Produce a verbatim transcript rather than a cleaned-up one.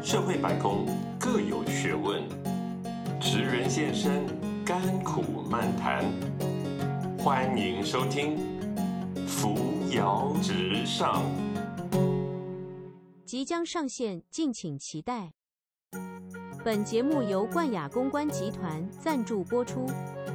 社会百工各有学问，职人现身，甘苦漫谈。欢迎收听扶摇直上。 即将上线，敬请期待。本节目由冠亚公关集团赞助播出。